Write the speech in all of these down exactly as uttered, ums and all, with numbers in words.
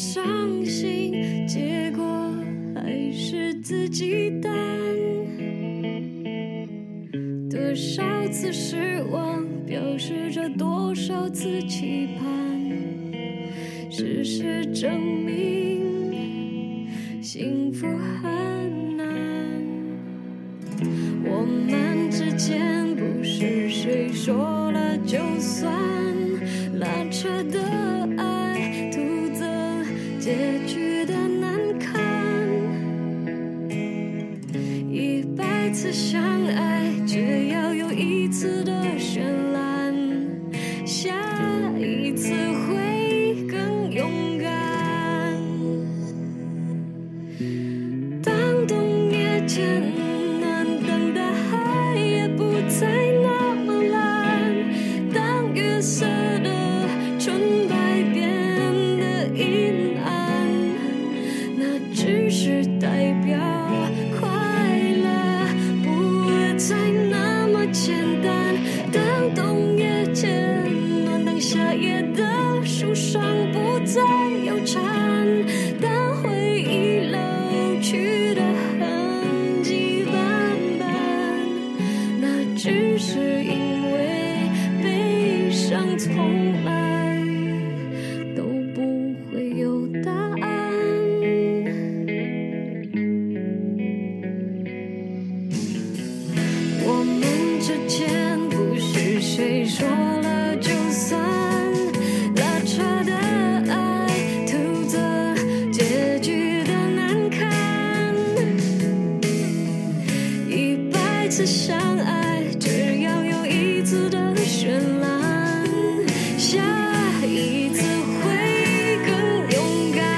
伤心，结果还是自己担。多少次失望，表示着多少次期盼。事实证明，幸福很难。我们之间不是谁说了就算，拉扯的爱，徒增结局的难堪。一百次相爱，只要有一次的绚烂，下一次会更勇敢。当冬夜渐暖，当大海也不再那么蓝，当月色的纯白变得阴暗，那只是代表快乐不再那么简单。当冬夜渐暖，当夏夜的树上不再有蝉，当回忆老去的痕迹斑斑，那只是因为悲伤从来都不会有答案。我们之间不是谁说了就算，拉扯的爱，徒增结局的难堪。一百次相爱，只要有一次的绚烂，下一次会更勇敢。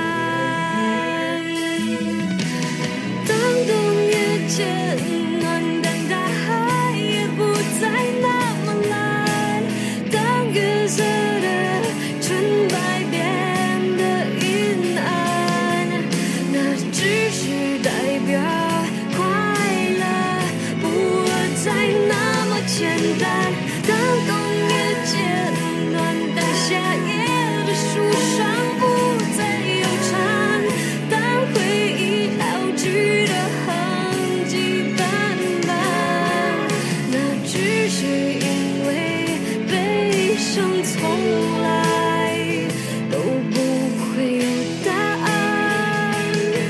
当冬夜渐暖，当大海也不再那么蓝，当月色的纯白变得阴暗，那只是代表快乐不再那么简单。当冬夜渐暖，当夏夜的树上不再有蝉，当回忆老去的痕迹斑斑，那只是因为悲伤从来都不会有答案。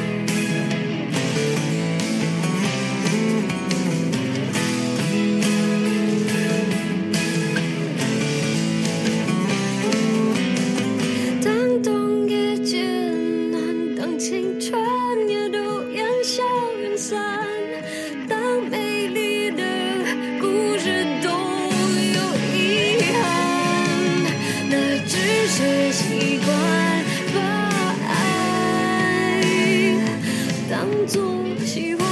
当冬夜渐暖，当青春也都烟消云散，当美丽的故事都有遗憾，那只是习惯把爱当作喜欢。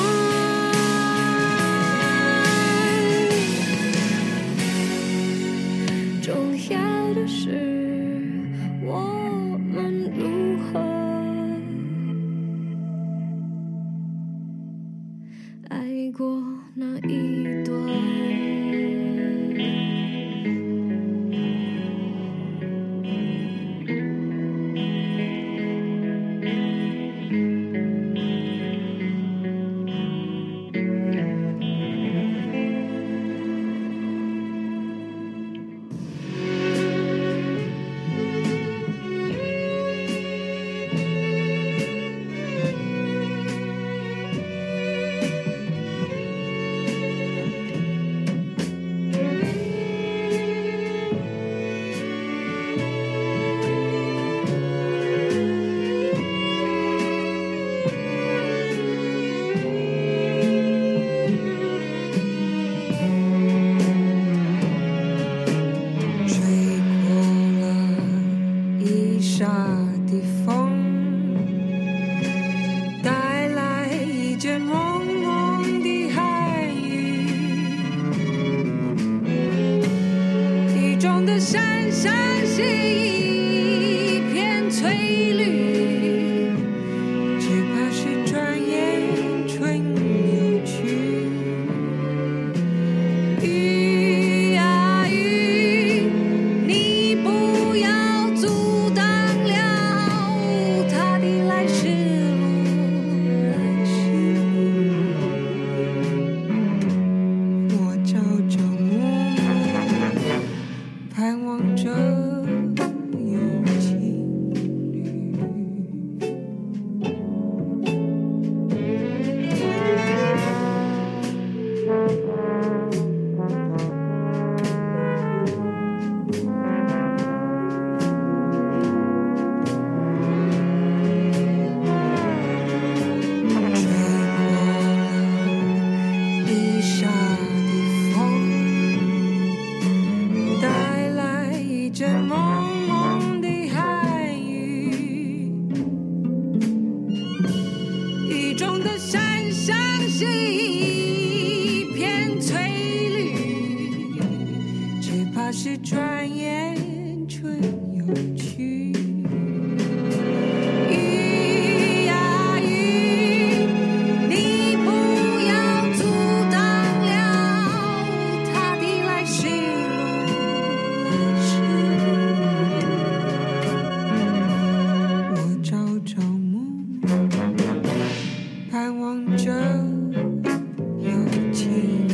重要的是我们如何爱过那一段。 是转眼春又去。雨呀雨，你不要阻挡了他的来时路，来时路。我朝朝暮暮，盼望着有情。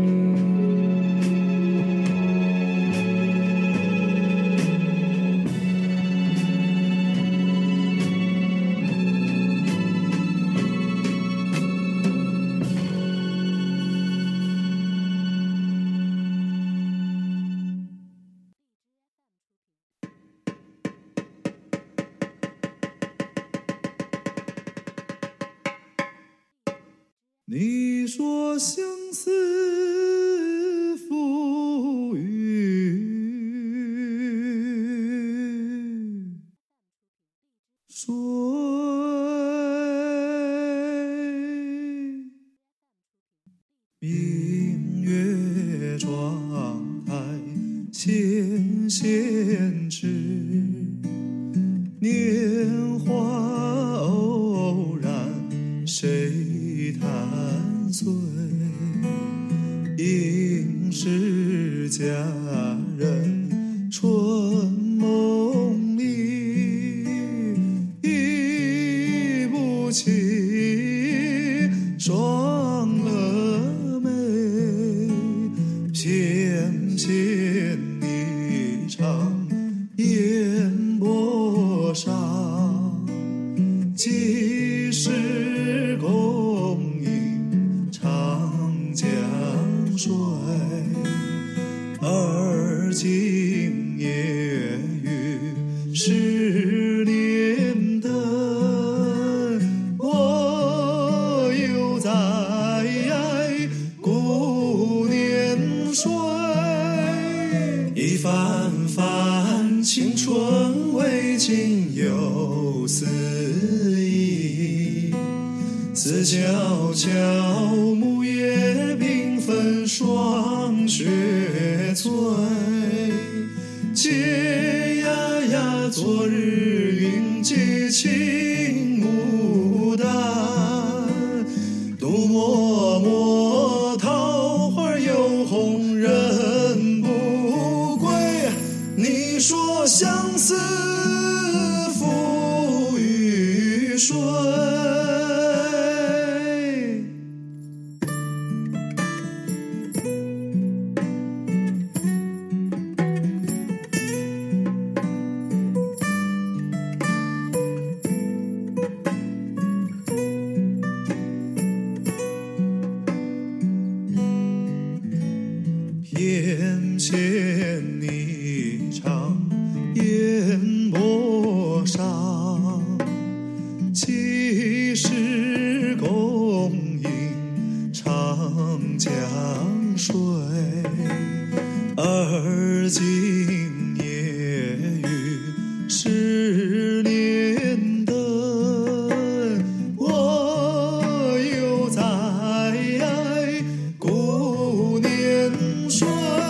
你说相思浮云，水明月窗台纤纤指，年华偶然谁弹碎，应是佳人春梦里，忆不起双蛾眉，翩翩一场烟波上，几时共饮长江水，而今夜雨十年灯，我又在顾年岁。一番番青春未尽又思忆，思悄悄木叶缤纷霜雪催，嗟呀呀昨日云髻青牡丹，独默默桃花又红人不归。你说相思浮于水，翩翩一场烟波上，几时共饮长江水，而今夜雨十年灯，我又在顾年岁。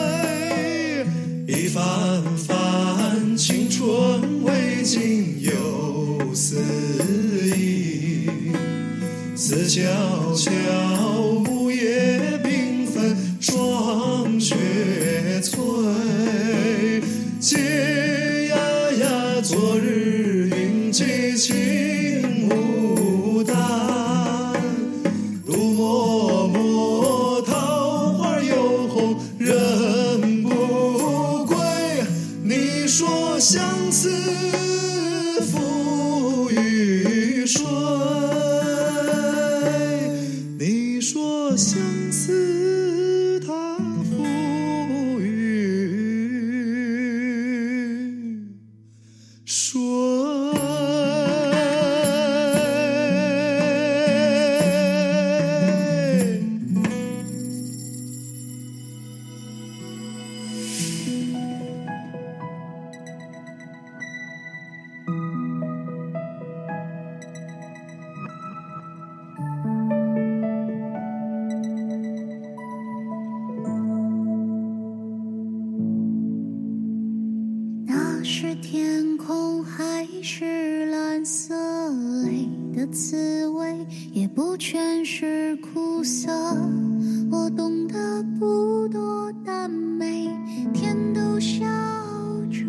一番番青春未尽又思忆，思悄悄木叶缤纷霜雪催，嗟呀呀昨日云髻青牡丹，独默默桃花又红人不归。你说相思浮于水，你说相思它浮于水。 天空还是蓝色，泪的滋味也不全是苦涩。我懂得不多，但每天都笑着，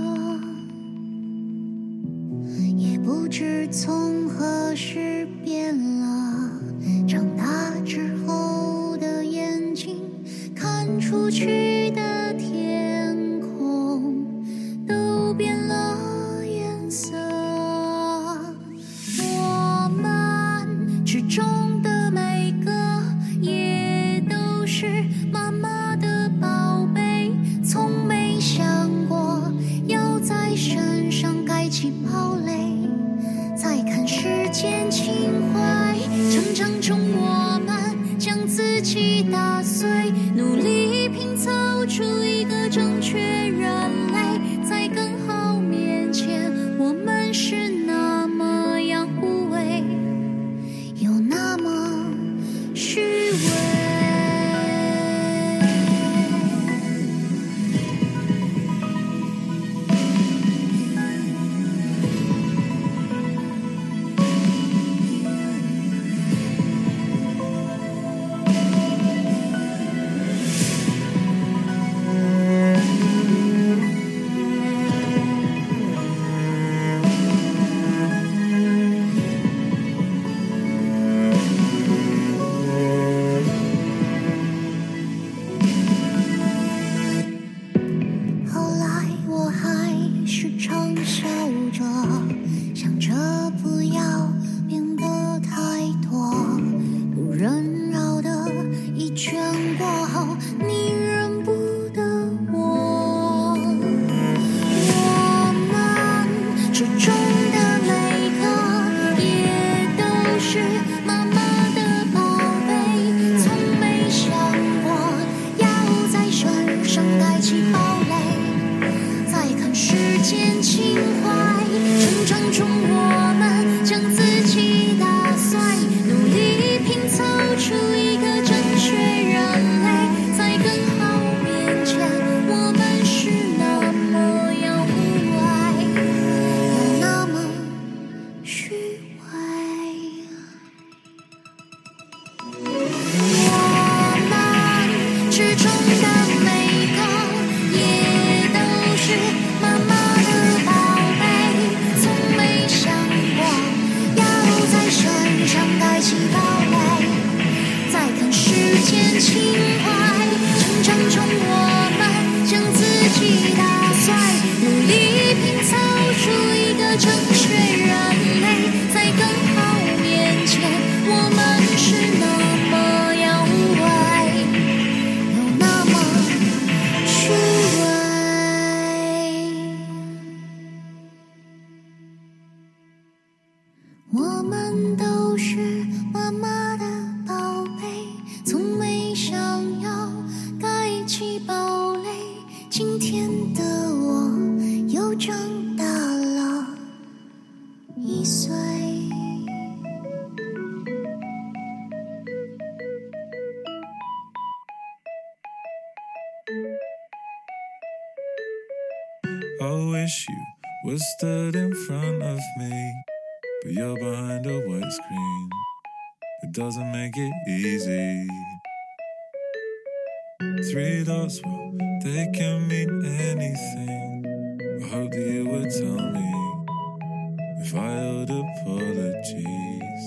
也不知从何时变了。长大之后的眼睛，看出去的天空都变了颜色。我们之中的每个也都是妈妈的宝贝，从没想过要在身上盖起堡垒。再看世间情怀，成长中我们将自己打碎，努力拼凑出一个正确人类。在更好面前，我们是那么样无畏，又那么虚伪。我们都是妈妈的宝贝，从没想要盖起堡垒。今天的我又长大了一岁。 I wish you was stood in front of me, but you're behind a white screen. It doesn't make it easy. Three dots, well, they can mean anything. I hope that you would tell me if I owed apologies.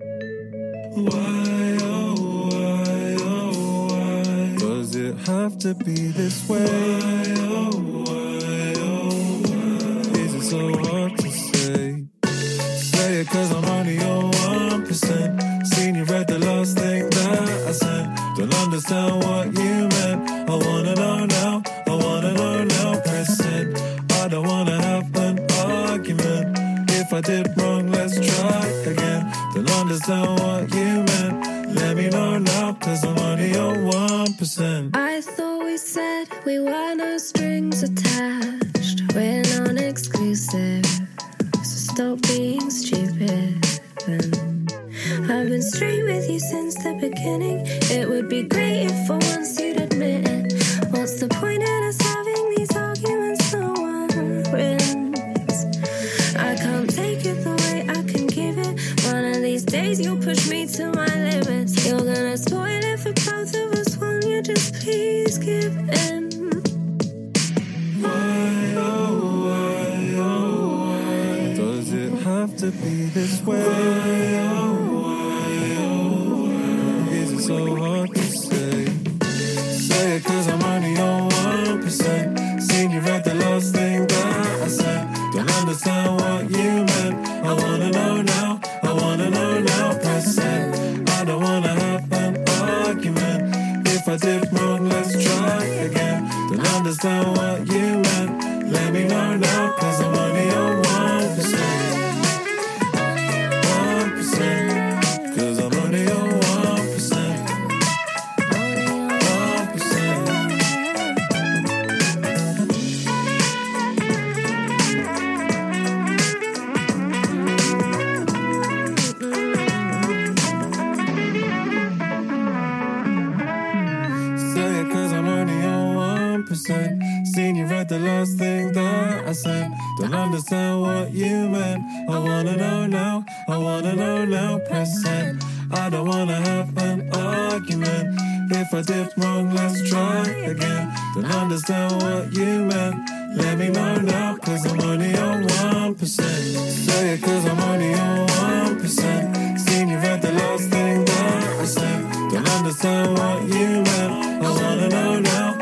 Why, oh, why, oh, why does it have to be this way? Why, oh, why, oh, why is it so hard to say? Say it cause I'm only your one percent. Seen you read the last thing that I sent. Don't understand what you meant. I wanna know now, I wanna know now. Press it, I don't wanna have an argument. If I did wrong, let's try again. Don't understand what you meant. Let me know now, cause I'm only your one percent. I thought we said we were no strings attached. We're non-exclusive, so stop being stupid. And I've been straight with you since the beginning. It would be great if for once you'd admit it. What's the point in us having these arguments no one wins? both of us want you, just please give in. Why, oh, why, oh, why does it have to be this way? Why, oh, why, oh, why is it so hard to say? Say it cause I'm only on one percent. Seen you read the last thing that I said. Don't understand what you meant. I wanna know now, I wanna know now. Press send. I don't wanna have an argument. If I did wrong, let's try again. Don't understand what you meant. Let me know now, cause I'm only on one percent. One percent. Cause I'm only on one percent. One percent. Say it cause I'm only on one percent. Seen you read the last thing that I said. Don't understand what you meant. I wanna know now, I wanna know now. Press send. I don't wanna have an argument. If I did wrong, let's try again. Don't understand what you meant. Let me know now, cause I'm only on one percent. Say it cause I'm only on one percent. Seen you read the last thing that I said. Don't understand what you meant. I wanna know now,